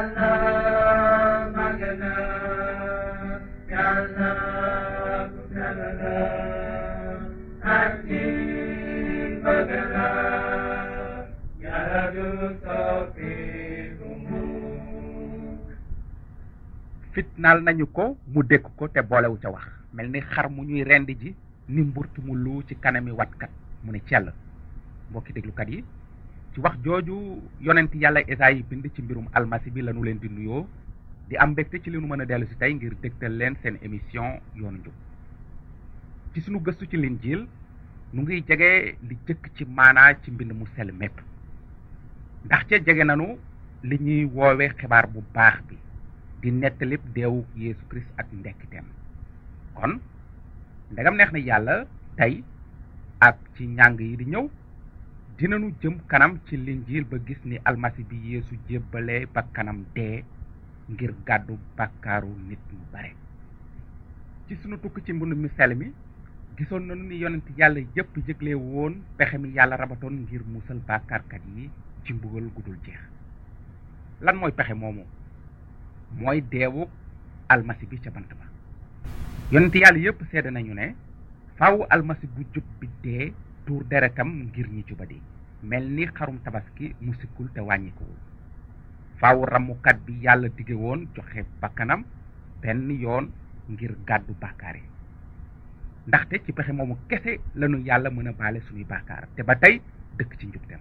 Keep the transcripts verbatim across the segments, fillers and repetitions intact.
fitnaal nañu ko mu dékk ko te boolewu ca wax mel ni xar mu ñuy rendi ji ni mburtu mu lu ci kanami watkat mu ne cell. mbokki déglukat yi ci wax jooju yonent yàlla Esayi bind ci mbirum almasi bi lañu leen di nuyoo di am mbégte ci li nu mën a dellu si tey ngir dégtal leen seen émission yoonu njub. ci sunu gëstu ci linjiil nu ngi jege li jëkk ci maanaa ci mbind mu sell mépp ndax ca jege nanu li ñuy woowe xibaar bu baax bi di nettalib deewu Yeesu Kirist ak ndekkiteem. kon ndegam neex na yàlla tey ak ci njàng yi di ñëw dinañu jëm kanam ci linjiil ba gis ni almasi bi Yeesu jébbale ba kanam dee ngir gàddu bàkkaaru nit ñu bare. ci sunu tukki ci mbind mu sell mi gisoon nañu ni yonent yàlla yépp yëgle woon pexe mi yàlla rabatoon ngir musal bàkkaarkat yi ci mbugal gudul jeex. lan mooy pexe moomu? mooy deewu almasi bi ca bant ba. yonent yàlla yépp seede nañu ne faaw almasi bu jub bi dee tuur deretam ngir ñi jubadi mel ni xarum tabaski mu sikkul te wàññikuwul. faaw ramukat bi yàlla dige woon joxe bakkanam benn yoon ngir gàddu bàkkaar yi. ndaxte ci pexe moomu kese lañu yàlla mën a baale suñuy bàkkaar te ba tey dëkk ci njubteem.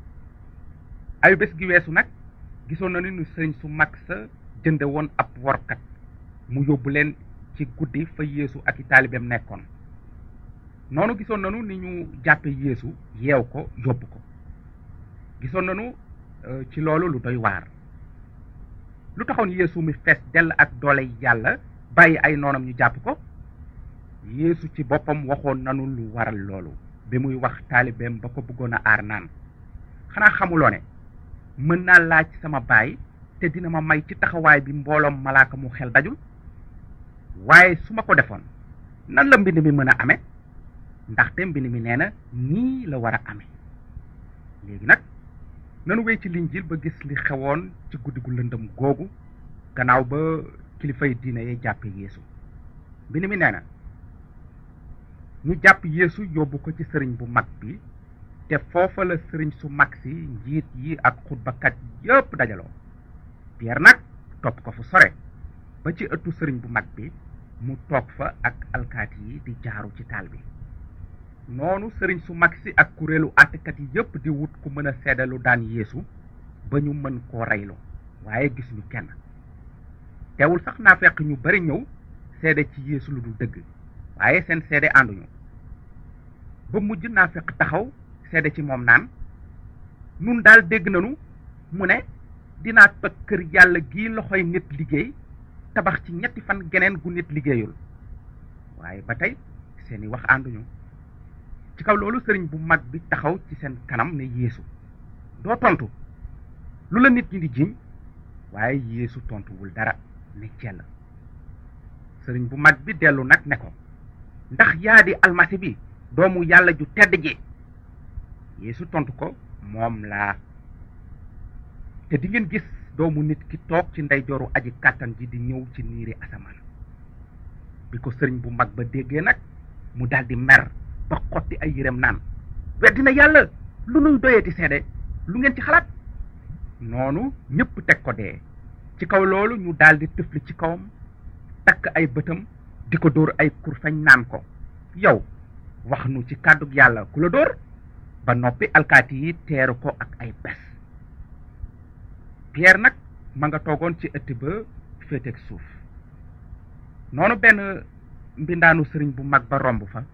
ayu bés gi weesu nag gisoon na ni nu sëriñ su mag sa jënde woon ab workat mu yóbbu leen ci guddi fa Yeesu ak i taalibeem nekkoon. noonu gisoon nanu ni ñu jàppe Yeesu yeew ko yóbbu ko. gisoon nanu ci loolu lu doy waar. lu taxoon Yeesu mi fees dell ak doole yàlla bàyyi ay noonam ñu jàpp ko? Yeesu ci boppam waxoon nanu lu waral loolu bi muy wax taalibeem ba ko bëggoon a aar naan xanaa xamuloo ne mën naa laaj sama baay te dina ma may ci taxawaay bi mbooloom malaaka mu xel dajul? waaye su ma ko defoon nan la mbind mi mën a amee? ndaxte mbind mi nee na nii la war a amee. léegi nag nanu wéy ci linjiil ba gis li xewoon ci guddi gu lëndëm googu gannaaw ba kilifay diine yi jàppe Yeesu. mbind mi nee na ñu jàpp Yeesu yóbbu ko ci sëriñ bu mag bi te foofa la sëriñ su mag si njiit yi ak xutbakat yépp dajaloo. Pierre nag topp ko fu sore ba ci ëttu sëriñ bu mag bi mu toog fa ak alkaati yi di jaaru ci taal bi. noonu sëriñ su mag si ak kuréelu àttekat yi yépp di wut ku mën a seedalu daan Yeesu ba ñu mën koo reyloo waaye gisuñu kenn. teewul sax naa fekk ñu bari ñëw seede ci Yeesu lu dul dëgg waaye seen seede ànduñu. ba mujj naa fekk taxaw seede ci moom naan nun daal dégg nanu mu ne dinaa toj kër yàlla gi loxoy nit liggéey tabax ci ñetti fan geneen gu nit liggéeyul. waaye ba tey seeni wax ànduñu. ci kaw loolu sëriñ bu mag bi taxaw ci seen kanam ne Yeesu doo tontu lu la nit ñi di jiiñ? waaye Yeesu tontuwul dara ne cell. sëriñ bu mag bi dellu nag ne ko ndax yaa di almasi bi doomu yàlla ju tedd ji? Yeesu tontu ko moom laa. te di ngeen gis doomu nit ki toog ci ndeyjooru aji kàttan ji di ñëw ci niiri asamaan. bi ko sëriñ bu mag ba déggee nag mu daldi mer ba xotti ay yërem naan weddina yàlla, lu nuy doyeeti seede, lu ngeen ci xalaat? noonu ñëpp teg ko dee. ci kaw loolu ñu daldi tëfli ci kawam takk ay bëtam di ko dóor ay kurfeñ naan ko yow wax nu ci kàddug yàlla ku la dóor? ba noppi alkaati yi teeru ko ak ay bes. Pierre nag ma nga toogoon ci ëtt ba féeteeg suuf. noonu benn mbindaanu sëriñ bu mag ba romb fa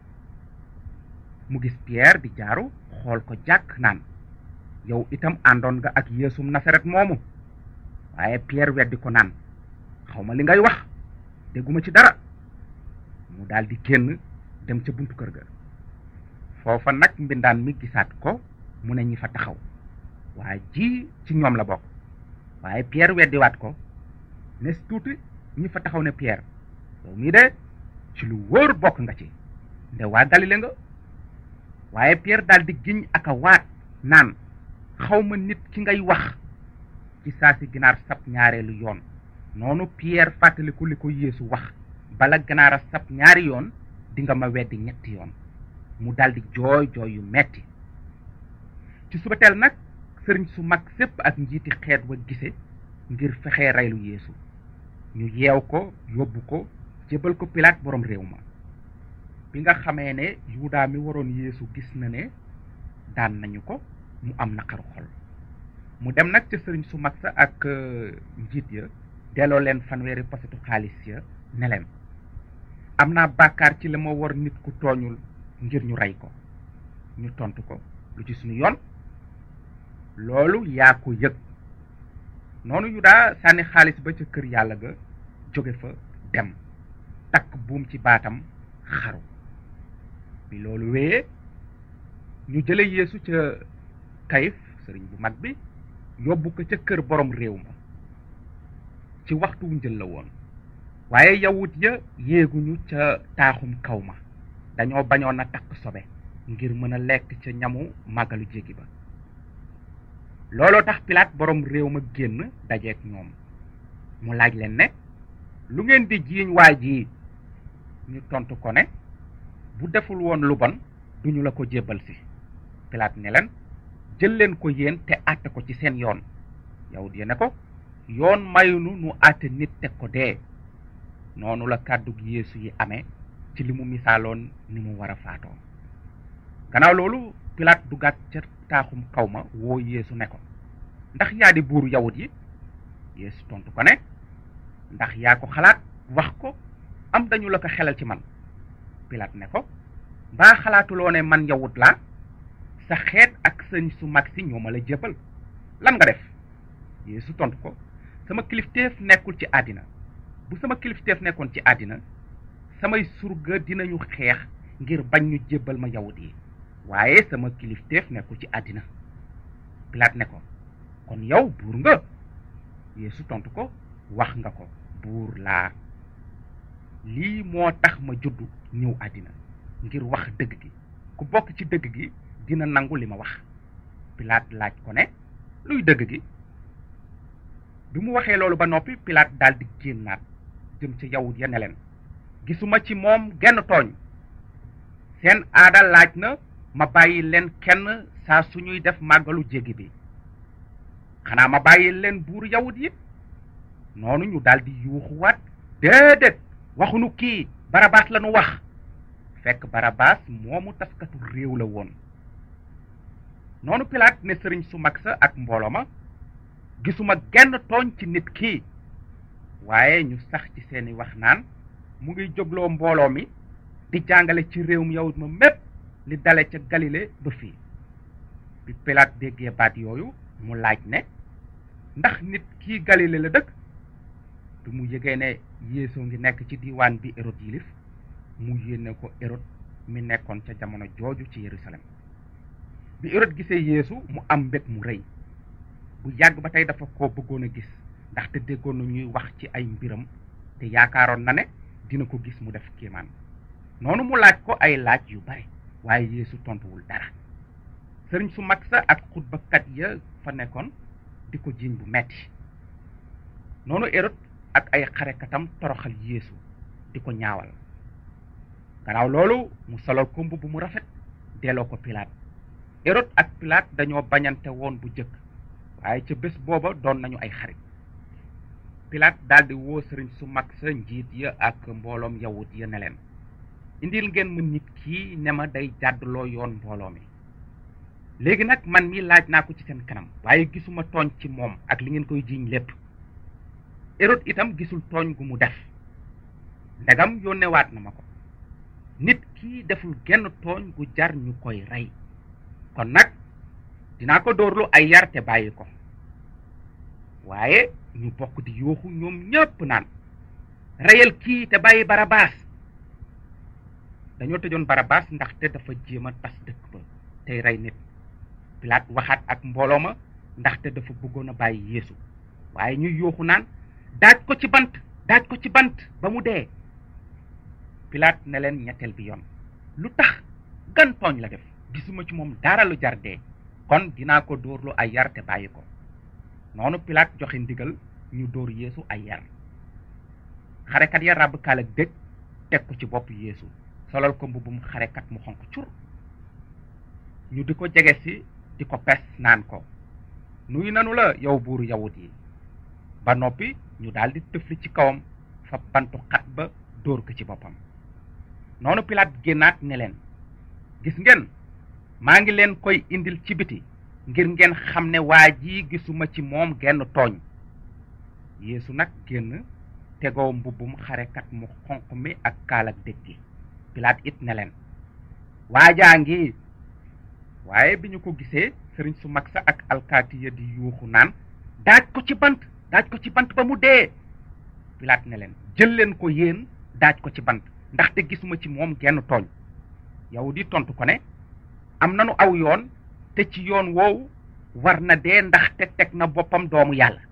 mu gis Pierre di jaaru xool ko jàkk naan yow itam àndoon nga ak Yeesum Nasaret moomu? waaye Pierre weddi ko naan xawma li ngay wax, dégguma ci dara. mu daldi génn dem ca buntu kër ga. foofa nag mbindaan mi gisaat ko mu ne ñi fa taxaw waa ji ci ñoom la bokk. waaye Pierre weddiwaat ko. nes tuuti ñi fa taxaw ne Pierre yow mii de ci lu wóor bokk nga ci, nde waa Galile nga. waaye Pierre daldi giñ ak a waat naan xawma nit ki ngay wax. ci saa si ginaar sab ñaareelu yoon noonu Pierre fàttaliku li ko Yeesu wax bala ginaar a sab ñaari yoon di nga ma weddi ñetti yoon mu daldi jooy jooy yu metti ci subateel nag sëriñ su mag sépp ak njiiti xeet wa gise ngir fexe reylu Yeesu ñu yeew ko yóbbu ko jébal ko Pilaat borom réew ma bi nga xamee ne Yuda mi waroon Yeesu gis na ne daan nañu ko mu am naqaru xol mu dem nag ca sëriñ su mag sa ak njiit ya delloo leen fanweeri posetu xaalis ya ne leen am naa bàkkaar ci la ma war nit ku tooñul ngir ñu rey ko ñu tontu ko lu ci suñu yoon loolu yaa ko yëg noonu Yuda sànni xaalis ba ca kër yàlla ga jóge fa dem takk buum ci baatam xaru bi loolu wéyee ñu jële Yeesu ca Kayif sëriñ bu mag bi yóbbu ko ca kër borom réew ma ci waxtu wu njël la woon waaye yawut ya yéeguñu ca taaxum kaw ma dañoo bañoon a takk sobe ngir mën a lekk ca ñamu màggalu jéggi ba looloo tax Pilaat borom réew ma génn dajeek ñoom mu laaj leen ne lu ngeen di jiiñ waa ji ñu tontu ko ne bu deful woon lu bon duñu la ko jébbal si Pilaat ne leen jël leen ko yéen te àtte ko ci seen yoon yawut ya ne ko yoon mayunu nu àtte nit teg ko dee noonu la kàddu Yeesu yi amee ci li mu misaaloon ni mu war a faatoo gannaaw loolu Pilaat dugaat ca taaxum kaw ma woo Yeesu ne ko ndax yaa di buuru yawut yi Yeesu tontu ko ne ndax yaa ko xalaat wax ko am dañu la ko xelal ci man Pilaat ne ko mbaa xalaatuloo ne man yawut laa sa xeet ak sëñ su mag si ñoo ma la jébbal lan nga def Yeesu tontu ko sama kilifteef nekkul ci àddina bu sama kilifteef nekkoon ci àddina samay surga dinañu xeex ngir bañ ñu jébbal ma yawut yi waaye sama kilifteef nekkul ci àddina Pilaat ne ko kon yow buur nga Yeesu tontu ko wax nga ko buur laa lii moo tax ma juddu ñëw àddina ngir wax dëgg gi ku bokk ci dëgg gi dina nangu li ma wax Pilaat laaj ko ne luy dëgg gi bi mu waxee loolu ba noppi Pilaat daldi génnaat jëm ca yawut ya ne leen gisuma ci moom genn tooñ seen aada laaj na ma bàyyi leen kenn saa suñuy def màggalu jéggi bi xanaa ma bàyyi leen buur yawut yi noonu ñu daldi yuuxuwaat déedéet waxunu kii Barabaas la nu wax fekk Barabaas moomu taskatu réew la woon noonu Pilaat ne sëriñ su mag sa ak mbooloo ma gisuma genn tooñ ci nit kii waaye ñu sax ci seeni wax naan mu ngi jógloo mbooloo mi di jàngale ci réewum yawut ma mépp li dale ca Galile ba fii bi Pilaat déggee baat yooyu mu laaj ne ndax nit kii Galile la dëkk bi mu yëgee ne Yeesu ngi nekk ci diiwaan bi Hérod yilif mu yéene ko Hérod mi nekkoon ca jamono jooju ci Yerusalem bi Hérod gisee Yeesu mu am mbég mu rëy bu yàgg ba tey dafa ko bëggoon a gis ndaxte déggoon na ñuy wax ci ay mbiram te yaakaaroon na ne dina ko gis mu def kéemaan noonu mu laaj ko ay laaj yu bare waaye Yeesu tontuwul dara sëriñ su mag sa ak xutbakat ya fa nekkoon di ko jiiñ bu metti noonu Hérod ak ay xarekatam toroxal Yeesu di ko ñaawal gannaaw loolu mu solal ko mbubb mu rafet delloo ko Pilaat Hérod ak Pilaat dañoo bañante woon bu jëkk waaye ca bés booba doon nañu ay xarit Pilaat daldi woo sëriñ su mag sa njiit ya ak mbooloom yawut ya ne leen indil ngeen ma nit kii ne ma day jàddloo yoon mbooloo mi léegi nag man mi laaj naa ko ci seen kanam waaye gisuma tooñ ci moom ak li ngeen koy jiiñ lépp Hérod itam gisul tooñ gu mu def ndegam yónnewaat na ma ko nit kii deful genn tooñ gu jar ñu koy rey kon nag dinaa ko dóorlu ay yar te bàyyi ko waaye ñu bokk di yooxu ñoom ñépp naan reyal kii te bàyyi Barabaas dañoo tëjoon Barabaas ndaxte dafa jéem a tas dëkk ba tey rey nit Pilaat waxaat ak mbooloo ma ndaxte dafa bëggoon a bàyyi Yeesu waaye ñuy yooxu naan daaj ko ci bant daaj ko ci bant ba mu dee Pilaat ne leen ñetteel bi yoon lu tax gan tooñ la def gisuma ci moom dara lu jar dee kon dinaa ko dóorlu ay yar te bàyyi ko noonu Pilaat joxe ndigal ñu dóor Yeesu ay yar. xarekat ya ràbb kaal ak dég teg ko ci bopp Yeesu solal ko mbubbum xarekat mu xonq cur. ñu di ko jege si di ko pes naan ko nuyu nanu la yow buuru yawut yi. ba noppi ñu daldi tëfli ci kawam fa bantu xat ba dóor ko ci boppam. noonu Pilaat génnaat ne leen gis ngeen maa ngi leen koy indil ci biti ngir ngeen xam ne waa ji gisuma ci moom genn tooñ. Yeesu nag génn tegoo mbubbum xarekat mu xonq mi ak kaal ak dég gi. Pilaat it ne leen waajaa ngi. waaye bi ñu ko gisee sëriñ su mag sa ak alkaati ya di yuuxu naan daaj ko ci bant daaj ko ci bant ba mu dee. Pilaat ne leen jël leen ko yéen daaj ko ci bant ndaxte gisuma ci moom genn tooñ. yow di tontu ko ne am nanu aw yoon te ci yoon woowu war na dee ndaxte teg na boppam doomu yàlla.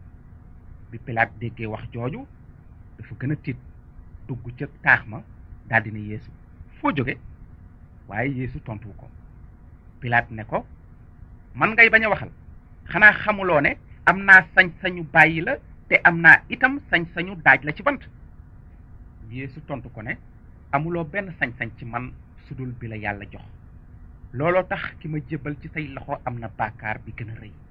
bi Pilaat déggee wax jooju dafa gën a tiit dugg ca taax ma daldi ne Yeesu foo jóge. waaye Yeesu tontu ko. Pilaat ne ko man ngay bañ a waxal xanaa xamuloo ne am naa sañ-sañu bàyyi la te am naa itam sañ-sañu daaj la ci bant. Yeesu tontu ko ne amuloo benn sañ-sañ ci man sudul bi la yàlla jox. looloo tax ki ma jébbal ci say loxo am na bàkkaar bi gën a rëy.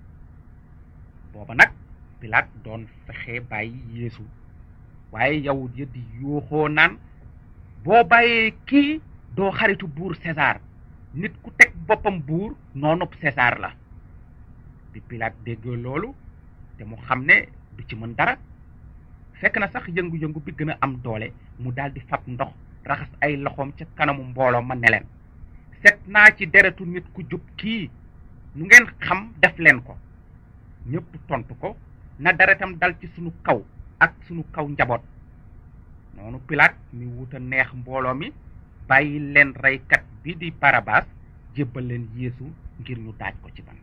booba nag Pilaat doon fexe bàyyi Yeesu waaye yawut ya di yooxoo naan boo bàyyee kii doo xaritu buur César. nit ku teg boppam buur noonub César la. bi Pilaat dégg loolu te mu xam ne du ci mën dara fekk na sax yëngu-yëngu bi gën a am doole mu daldi fab ndox raxas ay loxoom ca kanamu mbooloo ma ne leen set naa ci deretu nit ku jub kii nu ngeen xam def leen ko. ñépp tontu ko na deretam dal ci sunu kaw ak sunu kaw njaboot. noonu Pilaat mi wuta neex mbooloo mi bàyyi leen reykat bi di Barabaas jébbal leen Yeesu ngir ñu daaj ko ci bant.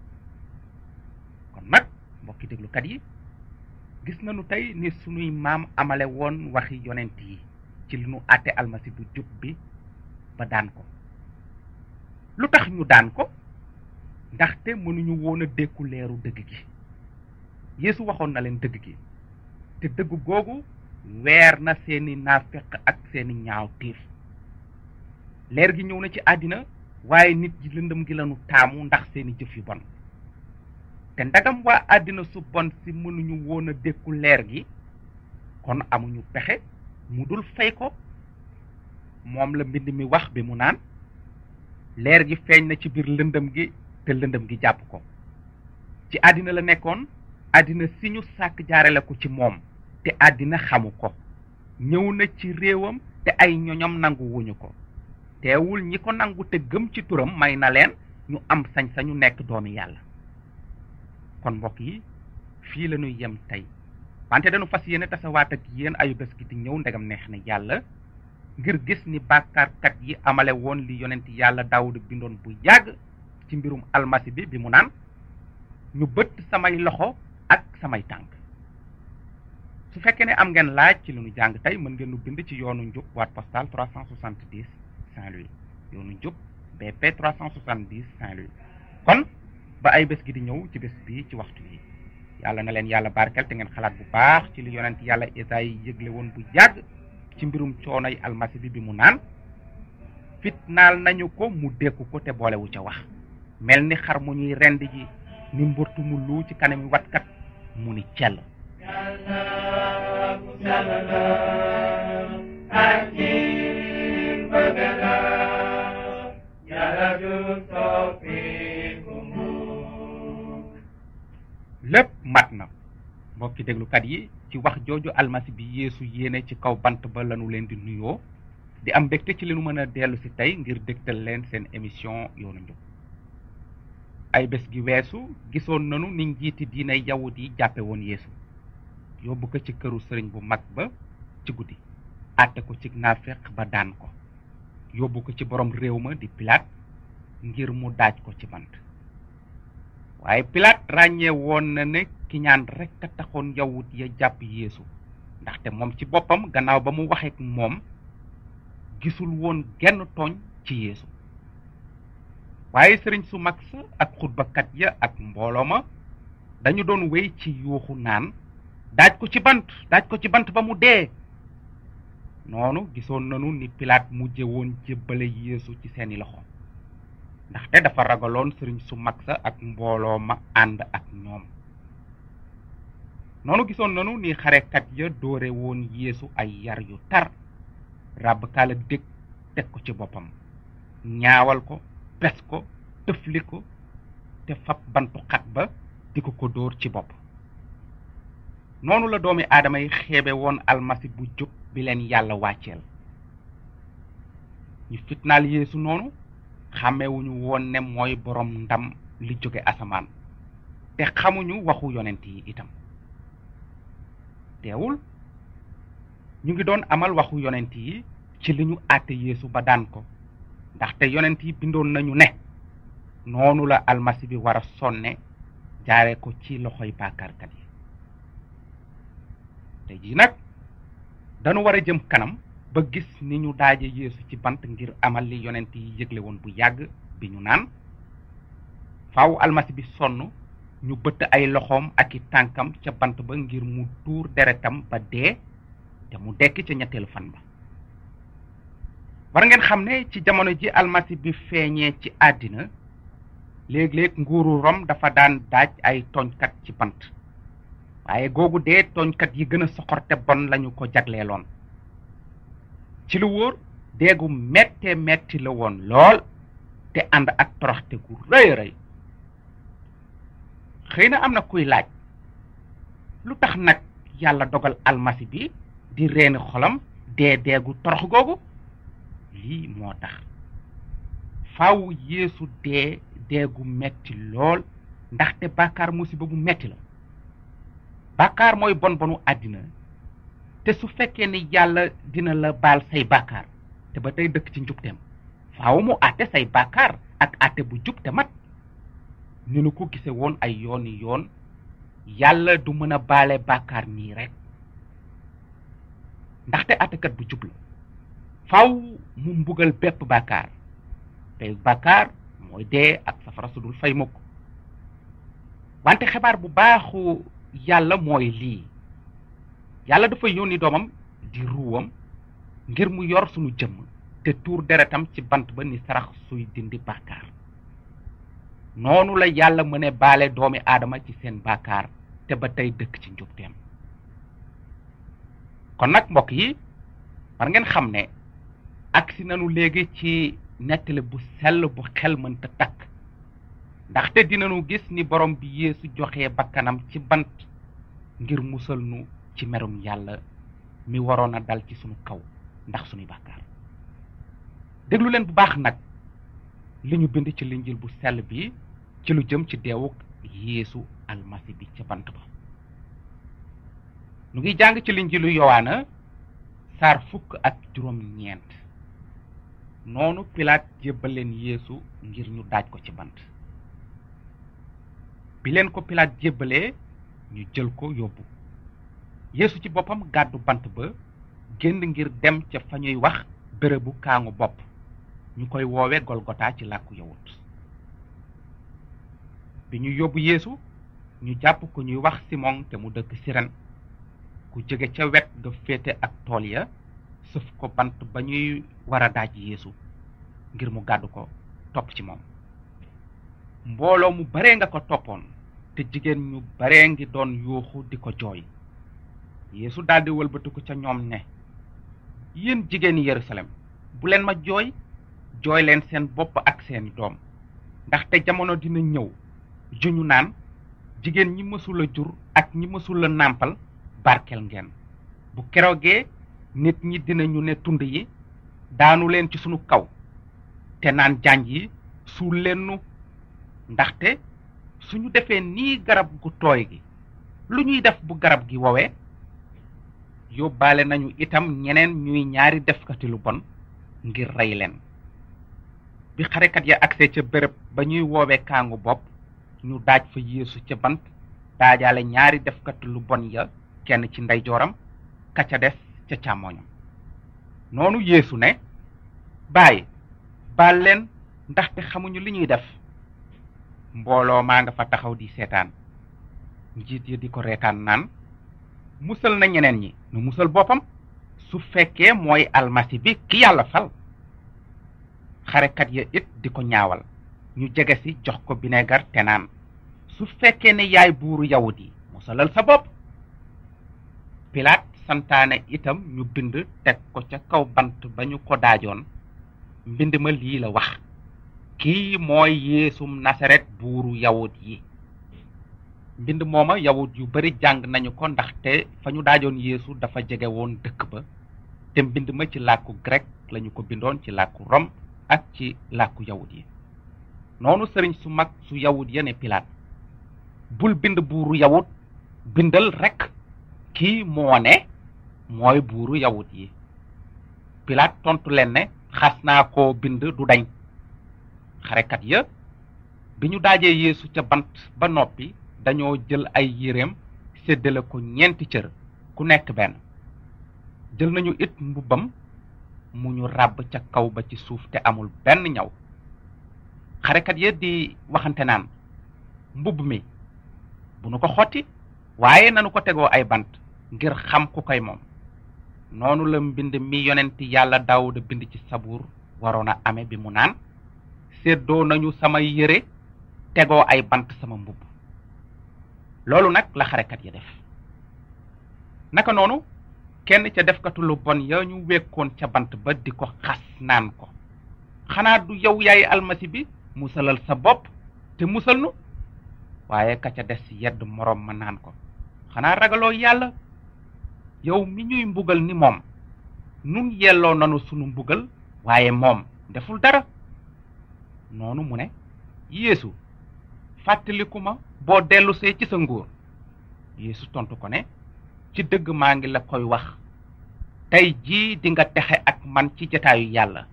kon nag mbokki déglukat yi gis nañu tey ni sunuy maam amale woon waxi yonent yi ci li nu àtte almasi bu jub bi ba daan ko. lu tax ñu daan ko ndaxte mënuñu woon a dékku leeru dëgg gi. Yeesu waxoon na leen dëgg gi te dëgg googu weer na seeni naafeq ak seeni ñaaw tiif. leer gi ñëw na ci àddina waaye nit ji lëndëm gi lañu taamu ndax seeni jëf yu bon. te ndagam waa àddina su bon si mënuñu woon a dékku leer gi kon amuñu pexe mu dul fay ko. moom la mbind mi wax bi mu naan leer gi feeñ na ci biir lëndëm gi te lëndëm gi jàpp ko. ci àddina la nekkoon àddina si ñu sàkk jaarale ko ci moom te àddina xamu ko. ñëw na ci réewam te ay ñoñom nangu wuñu ko. teewul ñi ko nangu te gëm ci turam may na leen ñu am sañ-sañu nekk doomi yàlla. kon mbokk yi fii la ñuy yem tey wante dañu fas yéene tasawaat ak yéen ayu bés gi di ñëw ndegam neex na yàlla ngir gis ni bàkkaarkat yi amale woon li yonent yàlla Daawuda bindoon bu yàgg ci mbirum almasi bi bi mu naan ñu bëtt samay loxo ak samay tànk. su fekkee ne am ngeen laaj ci li ñu jàng tey mën ngeen nu bind ci yoonu njub boîte postale trois cent soixante-dix Saint-Louis yoonu njub B P trois cent soixante-dix Saint-Louis. kon ba ay bés gi di ñëw ci bés bi ci waxtu yi yàlla na leen yàlla barkel te ngeen xalaat bu baax ci li yonent yàlla Esayi yëgle woon bu yàgg ci mbirum coonoy almasi bi bi mu naan fitnaal nañu ko mu dékku ko te boolewu ca wax mel ni xar mu ñuy rend ji ni mburtu mu lu ci kanami watkat mu ni cell. lépp mat na mbokki déglukat yi ci wax jooju almasi bi Yeesu yéene ci kaw bant ba lanu leen di nuyoo di am mbégte ci li nu mën a dellu si tey ngir dégtal leen seen émission yoonu njub. ay bés gi weesu gisoon nanu ni njiiti diinay yawut yi jàppe woon Yeesu yóbbu ko ci këru sëriñ bu mag ba ci guddi àtte ko ci naafeq ba daan ko yóbbu ko ci borom réew ma di Pilaat ngir mu daaj ko ci bant. waaye Pilaat ràññee woon na ne ki ñaan rekk a taxoon yawut ya jàpp Yeesu ndaxte moom ci boppam gannaaw ba mu waxeek moom gisul woon genn tooñ ci Yeesu. waaye sëriñ su mag sa ak xutbakat ya ak mbooloo ma dañu doon wéy ci yuuxu naan daaj ko ci bant daaj ko ci bant ba mu dee. noonu gisoon nanu ni Pilaat mujje woon jébbale Yeesu ci seeni loxo ndaxte dafa ragaloon sëriñ su mag sa ak mbooloo ma ànd ak ñoom. noonu gisoon nanu ni xarekat ya doore woon Yeesu ay yar yu tar ràbb kaala dég teg ko ci boppam ñaawal ko pes ko tëfli ko te fab bantu xat ba di ko ko dóor ci bopp. noonu la doomi aadama yi xeebe woon almasi bu jub bi leen yàlla wàcceel. ñu fitnaal Yeesu noonu xàmmewuñu woon ne mooy borom ndam li jóge asamaan te xamuñu waxu yonent yi itam. teewul ñu ngi doon amal waxu yonent yi ci li ñu àtte Yeesu ba daan ko ndaxte yonent yi bindoon nañu ne noonu la almasi bi war a sonne jaare ko ci loxoy bàkkaarkat yi. te ji nag dañu war a jëm kanam ba gis ni ñu daaje Yeesu ci bant ngir amal li yonent yi yëgle woon bu yàgg bi ñu naan faaw almasi bi sonn ñu bëtt ay loxoom ak i tànkam ca bant ba ngir mu tuur deretam ba dee te mu dekk ca ñetteelu fan ba. war ngeen xam ne ci jamono ji almasi bi feeñee ci àddina léeg-léeg nguuru Rom dafa daan daaj ay tooñkat ci bant waaye googu dee tooñkat yi gën a soxor te bon lañu ko jagleeloon. ci lu wóor deegu mette metti la woon lool te ànd ak toroxte gu rëy rëy. xëy na am na kuy laaj lu tax nag yàlla dogal almasi bi di reeni xolam dee deegu torox googu. lii moo tax faaw Yeesu dee deegu metti lool ndaxte bàkkaar musiba bu metti la. bàkkaar mooy bon bonu àddina te su fekkee ni yàlla dina la baal say bàkkaar te ba tey dëkk ci njubteem faaw mu àtte say bàkkaar ak àtte bu jub te mat. ni nu ko gise woon ay yooni yoon yàlla du mën a baale bàkkaar nii rek ndaxte àttekat bu jub la. faaw mu mbugal bépp bàkkaar te bàkkaar mooy dee ak safara su dul fay mukk. wante xibaar bu baaxu yàlla mooy lii yàlla dafa yónni doomam di ruwam ngir mu yor sunu jëmm te tuur deretam ci bant ba ni sarax suy dindi bàkkaar. noonu la yàlla mëne baale doomi aadama ci seen bàkkaar te ba tey dëkk ci njubteem. kon nag mbokk yi war ngeen xam ne agsi nanu léegi ci nettali bu sell bu xel mënta takk ndaxte dinanu gis ni borom bi Yeesu joxe bakkanam ci bant ngir musal nu ci merum yàlla mi waroon a dal ci sunu kaw ndax sunuy bàkkaar. déglu leen bu baax nag li ñu bind ci linjil bu sell bi ci lu jëm ci deewuk Yeesu almasi bi ca bant ba. nu ngi jàng ci linjilu Yowaana saar fukk ak juróom ñeent. noonu Pilaat jébbal leen Yeesu ngir ñu daaj ko ci bant. bi leen ko Pilaat jébbalee ñu jël ko yóbbu. Yeesu ci boppam gàddu bant ba génn ngir dem ca fa ñuy wax bérébu kaangu bopp ñu koy woowe Golgota ci làkku yawut. bi ñu yóbbu Yeesu ñu jàpp ko ñuy wax Simon te mu dëkk Siren ku jóge ca wet ga féete ak tool ya sëf ko bant ba ñuy war a daaj Yeesu ngir mu gàddu ko topp ci moom. mbooloo mu bare nga ko toppoon te jigéen ñu bare ngi doon yuuxu di ko jooy. Yeesu daldi wëlbatiku ca ñoom ne yéen jigéeni Yerusalem bu leen ma jooy jooy leen seen bopp ak seeni doom ndaxte jamono dina ñëw juñu naan jigéen ñi mësula jur ak ñi mësula nàmpal barkel ngeen. bu keroogee nit ñi dinañu ne tund yi daanu leen ci sunu kaw te naan janj yi suul leen nu ndaxte suñu defee nii garab gu tooy gi lu ñuy def bu garab gi wowee. yóbbaale nañu itam ñeneen ñuy ñaari defkati lu bon ngir rey leen. bi xarekat ya agsee ca béréb ba ñuy woowe kaangu bopp ñu daaj fa Yeesu ca bant daajaale ñaari defkati lu bon ya kenn ci ndeyjooram ka ca des ca càmmooñam. noonu Yeesu ne baay baal leen ndaxte xamuñu li ñuy def. mbooloo maa nga fa taxaw di seetaan njiit yi di ko reetaan naan musal na ñeneen ñi nu musal boppam su fekkee mooy almasi bi ki yàlla fal. xarekat ya it di ko ñaawal ñu jege si jox ko bineegar te naan su fekkee ne yaay buuru yawut yi musalal sa bopp. Pilaat santaane itam ñu bind teg ko ca kaw bant ba ñu ko daajoon. mbind ma lii la wax: kii mooy yeesum nasaret buuru yawut yi. mbind mooma yawut yu bari jàng nañu ko ndaxte fa ñu daajoon yeesu dafa jege woon dëkk ba te mbind ma ci làkku grec lañu ko bindoon ci làkku rom ak ci làkku yawut yi. noonu sëriñ su mag su yawut ya ne Pilaat bul bind buuru yawut, bindal rekk kii moo ne mooy buuru yawut yi. Pilaat tontu leen ne xas naa koo bind du dañ. xarekat ya bi ñu daajee yeesu ca bant ba noppi dañoo jël ay yéreem séddale ko ñeenti cër ku nekk benn. jël nañu it mbubbam mu ñu ràbb ca kaw ba ci suuf te amul benn ñaw. xarekat ya di waxante naan mbubb mi bu nu ko xotti waaye nanu ko tegoo ay bant ngir xam ku koy moom. noonu la mbind mi yonenti yàlla Daawuda bind ci sabuur waroon a ame bi mu naan séddoo nañu samay yére tegoo ay bant sama mbubb. loolu nag la xarekat ya def. naka noonu kenn ca defkatu lu bon ya ñu wekkoon ca bant ba di ko xas naan ko xanaa du yow yaay almasi bi musalal sa bopp te musal nu. waaye ka ca des yedd moroom ma naan ko xanaa ragaloo yàlla yow mi ñuy mbugal ni moom nun yelloo nanu sunu mbugal waaye moom deful dara. noonu mu ne yeesu fàttaliku ma boo dellusee ci sa nguur. yeesu tontu ko ne ci dëgg maa ngi la koy wax tey jii di nga texe ak man ci jataayu yàlla.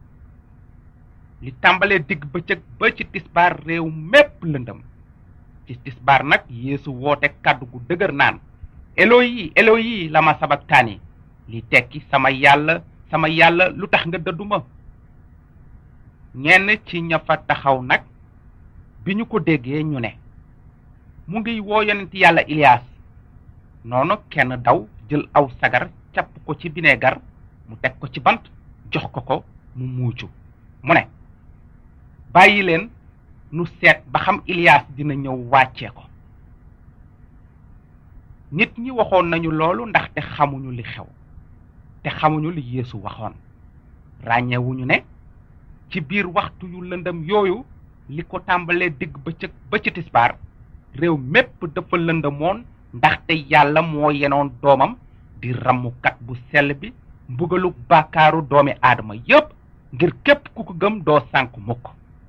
li tàmbalee digg bëccëg ba ci tisbaar réew mépp lëndëm. ci tisbaar nag yeesu woote kàddu gu dëgër naan eloyi eloyi lama sabaktaani, li tekki sama yàlla sama yàlla lu tax nga dëdduma. ñenn ci ña fa taxaw nag bi ñu ko déggee ñu ne mu ngi woo yonent yàlla Ilias. noonu kenn daw jël aw sagar capp ko ci bineegar mu teg ko ci bant jox ko ko mu muucu mu ne bàyyi leen nu seet ba xam Ilias dina ñëw wàccee ko. nit ñi waxoon nañu loolu ndaxte xamuñu li xew te xamuñu li Yeesu waxoon. ràññewuñu ne ci biir waxtu yu lëndëm yooyu li ko tàmbalee digg bëccëg ba ci tisbaar réew mépp dafa lëndëmoon ndaxte yàlla moo yenoon doomam di rammukat bu sell bi mbugalu bàkkaaru doomi aadama yépp ngir képp ku ko gëm doo sànk mukk.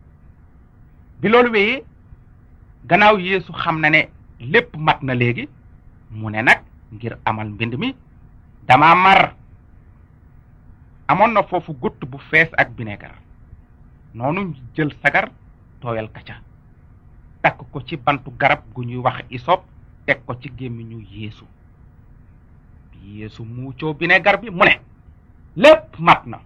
bi loolu wéyee gannaaw Yeesu xam na ne lépp mat na léegi mu ne nag ngir amal mbind mi dama mar. amoon na foofu gutt bu fees ak bineegar. noonu jël sagar tooyal ka ca takk ko ci bantu garab gu ñuy wax isop teg ko ci gémmiñu Yeesu. bi Yeesu muucoo bineegar bi mu ne lépp mat na.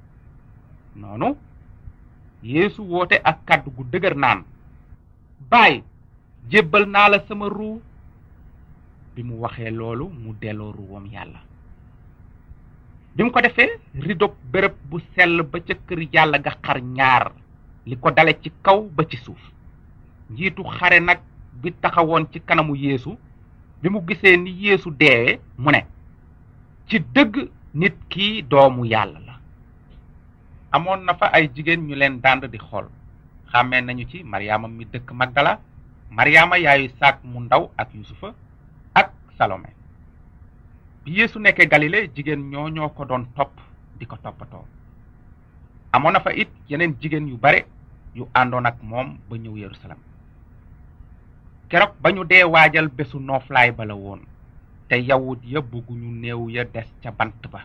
noonu Yeesu woote ak kàddu gu dëgër naan baay jébbal naa la sama ruu. bi mu waxee loolu mu delloo ruwam yàlla. bi mu ko defee ridob béréb bu sell ba ca kër yàlla ga xar ñaar li ko dale ci kaw ba ci suuf. njiitu xare nag bi taxawoon ci kanamu Yeesu bi mu gisee ni Yeesu deewee mu ne ci dëgg nit ki doomu yàlla la. amoon na fa ay jigéen ñu leen dànd di xool. xàmmee nañu ci Maryaama mi dëkk Magdala, Maryaama yaayu Saak mu ndaw ak Yusufa ak Salome. bi Yeesu nekkee Galile jigéen ñoo ñoo ko doon topp di ko toppatoo. amoon na fa it yeneen jigéen yu bare yu àndoon ak moom ba ñëw Yerusalem. keroog ba ñu dee waajal bésu nooflaay ba la woon te yawut ya bëgguñu néew ya des ca bant ba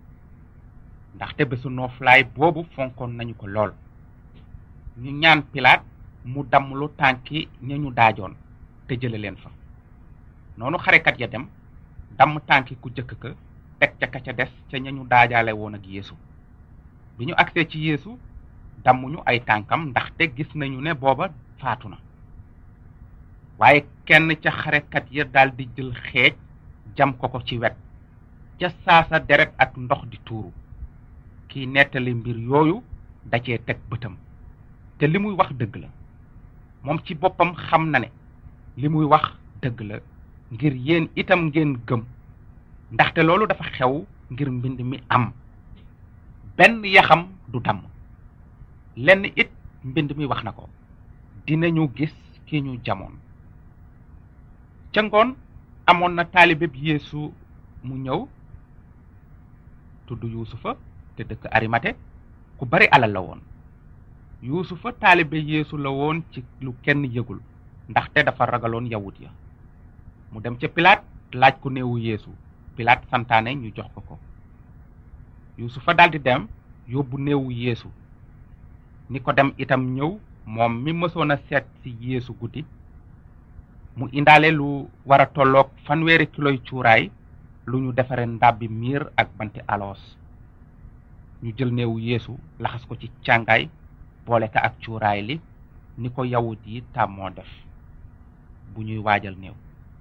ndaxte bésu nooflaay boobu fonkoon nañu ko lool. ñu ñaan Pilaat mu damm lu tànki ña ñu daajoon te jële leen fa. noonu xarekat ya dem damm tànki ku jëkk ka teg ca ka ca des ca ña ñu daajaale woon ak Yeesu. bi ñu agsee ci Yeesu dammuñu ay tànkam ndaxte gis nañu ne booba faatu na. waaye kenn ca xarekat ya daal di jël xeej jam ko ko ci wet ca saasa deret ak ndox di tuuru kii nettali mbir yooyu da cee teg bëtam te li muy wax dëgg la moom ci boppam xam na ne li muy wax dëgg la ngir yéen itam ngeen gëm ndaxte loolu dafa xew ngir mbind mi am benn yaxam du damm lenn it mbind mi wax na ko dinañu gis ki ñu jamoon ca ngoon amoon na taalibeb Yeesu mu ñëw tudd Yuusufa te dëkk Arimate ku bari alal la woon Yuusufa taalibe Yeesu la woon ci lu kenn yëgul ndaxte dafa ragaloon yawut ya mu dem ca Pilaat laaj ko néewu Yeesu Pilaat santaane ñu jox ko ko Yuusufa daldi dem yóbbu néewu Yeesu ni ko dem itam ñëw moom mi mësoon a seet ci Yeesu guddi mu indaale lu war a tolloog fanweeri kiloy cuuraay lu ñu defare ndàbbi miir ak banti aloos ñu jël néewu Yeesu laxas ko ci càngaay boole ka ak cuuraay li ni ko yawut yi tàmmoo def bu ñuy waajal néew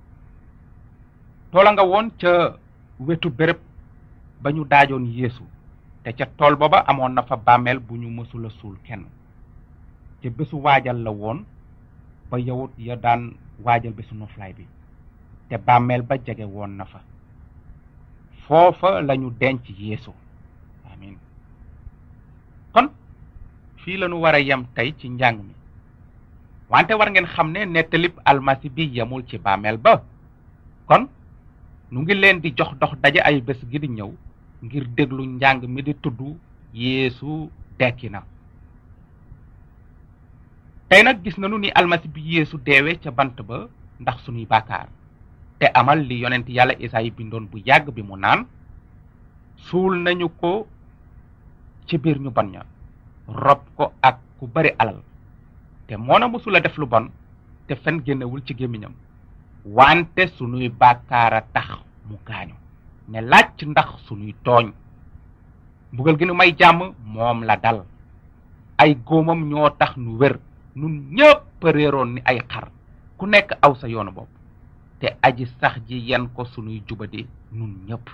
toola nga woon ca wetu béréb ba ñu daajoon Yeesu te ca tool booba amoon na fa bàmmeel bu ñu mësula suul kenn te bésu waajal la woon ba yawut ya daan waajal bésu noflaay bi te bàmmeel ba jege woon na fa foofa lañu denc Yeesu amin kon fii lañu war a yem tey ci njàng mi wante war ngeen xam ne nettalib almasi bi yemul ci bàmmeel ba kon nu ngi leen di jox dox daje ay bés gi di ñëw ngir déglu njàng mi di tudd Yeesu dekki na tey nag gis nañu ni almasi bi Yeesu deewe ca bant ba ndax sunuy bàkkaar te amal li yonent yàlla Isaayi bindoon bu yàgg bi mu naan suul nañu ko ci biir ñu bon ña rob ko ak ku bari alal te moona mësula def lu bon te fen génnewul ci gémmiñam wante sunuy bàkkaar a tax mu gaañu ne laaj ndax sunuy tooñ mbugal gi nu may jàmm moom la dal ay góomam ñoo tax nu wér nun ñëpp réeroon ni ay xar ku nekk aw sa yoonu bopp te aji sax ji yen ko sunuy jubadi nun ñëpp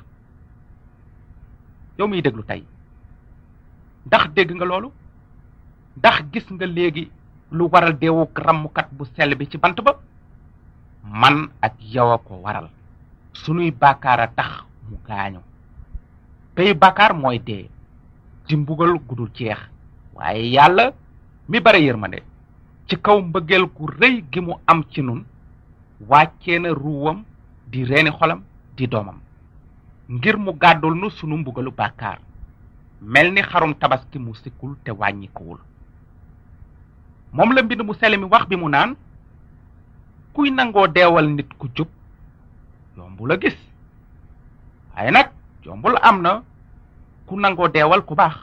yow miy déglu tey ndax dégg nga loolu ndax gis nga léegi lu waral deewuk rammukat bu sell bi ci bant ba man ak yow a ko waral sunuy bàkkaar a tax mu gaañu pey bàkkaar mooy dee di mbugal gudul jeex waaye yàlla mi bare yërmande ci kaw mbëggeel gu rëy gi mu am ci nun wàccee na ruwam di reeni xolam di doomam ngir mu gàddul nu sunu mbugalu bàkkaar mel ni xarum tabaski mu sikkul te wàññikuwul moom la mbind mu sell mi wax bi mu naan kuy nangoo deewal nit ku jub yombul a gis waaye nag yombul am na ku nangoo deewal ku baax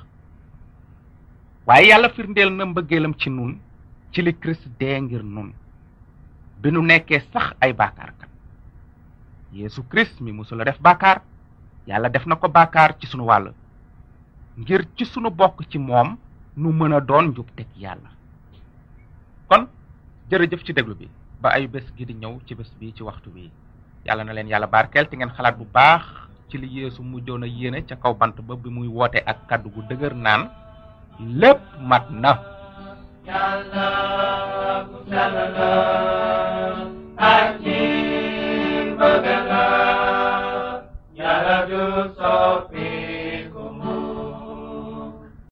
waaye yàlla firndeel na mbëggeelam ci nun ci li Kirist dee ngir nun bi nu nekkee sax ay bàkkaarkat Yeesu Kirist mi musula def bàkkaar yàlla def na ko bàkkaar ci sunu wàll ngir ci sunu bokk ci moom nu mën a doon njub teg yàlla kon jërëjëf ci déglu bi ba ay bés gi di ñëw ci bés bi ci waxtu bi yàlla na leen yàlla barkeel te ngeen xalaat bu baax ci li Yeesu mujjoon a yéene ca kaw bant ba bi muy woote ak kàddu gu dëgër naan lépp mat na yàlla ku sell la ak ci bëgg la yàlla du soppi